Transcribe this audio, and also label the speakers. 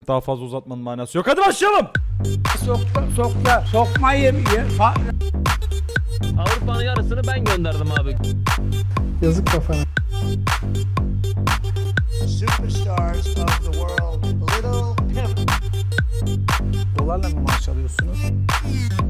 Speaker 1: Daha fazla uzatmanın manası yok. Hadi başlayalım.
Speaker 2: Sokmayayım.
Speaker 3: Avrupa'nın yarısını ben gönderdim abi.
Speaker 2: Yazık kafana.
Speaker 4: Superstars of the world, Little Pimp.
Speaker 2: Dolarla mı maaş alıyorsunuz?